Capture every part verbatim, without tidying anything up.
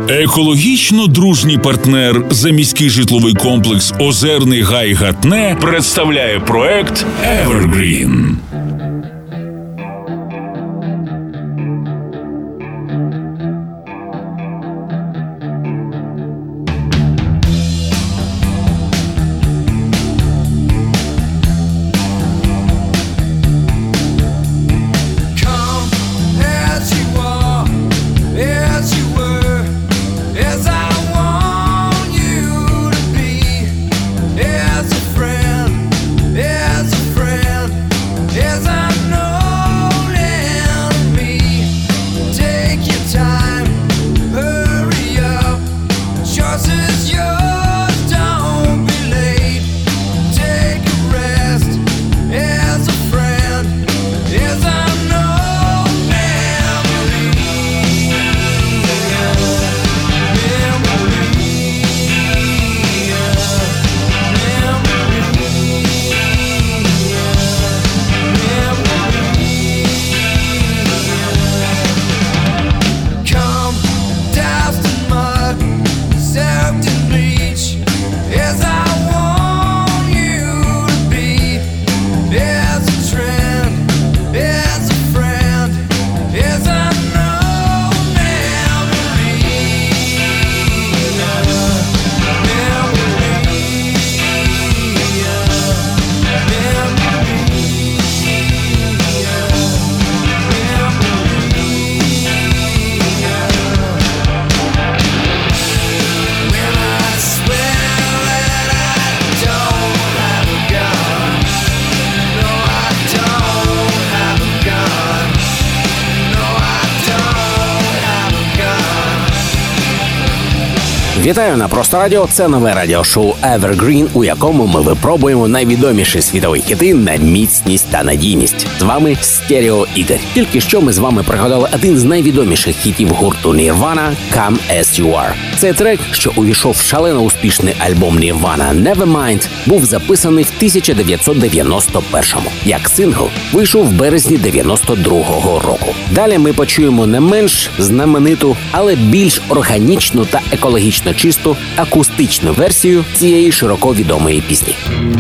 Екологічно дружній партнер заміський житловий комплекс «Озерний Гай Гатне» представляє проект «Evergreen». Вітаю на Просто Радіо. Це нове радіошоу Evergreen, у якому ми випробуємо найвідоміші світові хіти на міцність та надійність. З вами Стерео Ігор. Тільки що ми з вами пригадали один з найвідоміших хітів гурту Nirvana «Come As You Are». Цей трек, що увійшов в шалено успішний альбом Nirvana Nevermind, був записаний в тисяча дев'ятсот дев'яносто першому. Як сингл вийшов в березні дев'яносто другого року. Далі ми почуємо не менш знамениту, але більш органічну та екологічно чисту акустичну версію цієї широко відомої пісні.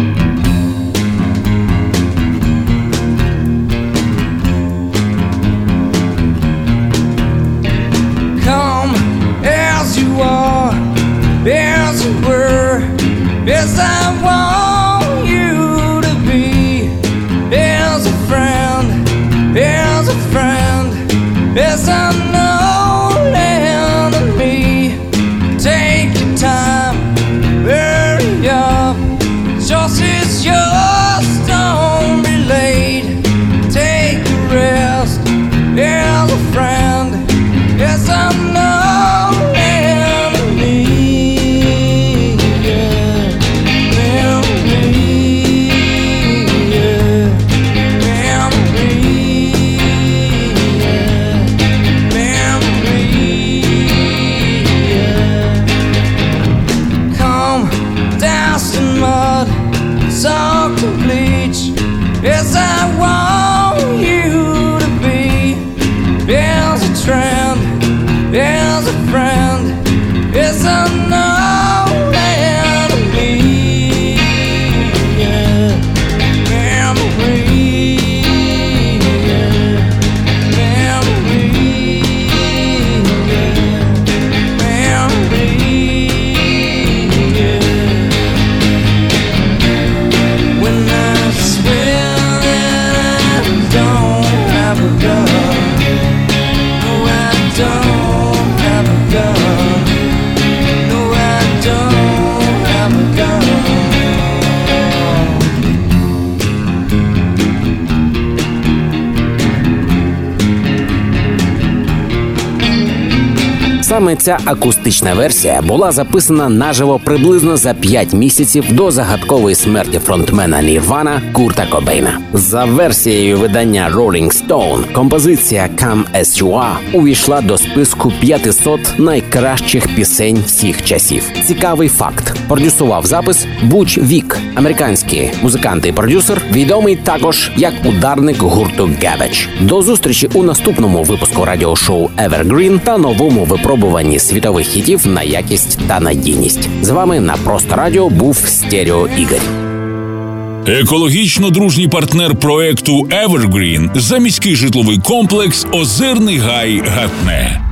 Come as you are, as you were, as I want you to be, as a friend, as a friend, as I know and me. Take your time, hurry up, just is yours, don't be late. Take a rest, as a friend, as I know and me. Yeah, memory, yeah, memory, yeah, memory. Soak and bleach as I want you to be, as a trend, as a friend, as I know and me. Yeah, memory, yeah, memory, yeah, memory. Саме ця акустична версія була записана наживо приблизно за п'ять місяців до загадкової смерті фронтмена Nirvana Курта Кобейна. За версією видання Rolling Stone, композиція «Come As You Are» увійшла до списку п'ятисот найкращих пісень всіх часів. Цікавий факт. Продюсував запис Буч Вік, американський музикант і продюсер, відомий також як ударник гурту Garbage. До зустрічі у наступному випуску радіошоу Evergreen та новому випробуванні світових хітів на якість та надійність. З вами на Просто Радіо був Стерео Ігор. Екологічно дружній партнер проекту Evergreen – заміський житловий комплекс «Озерний Гай Гатне».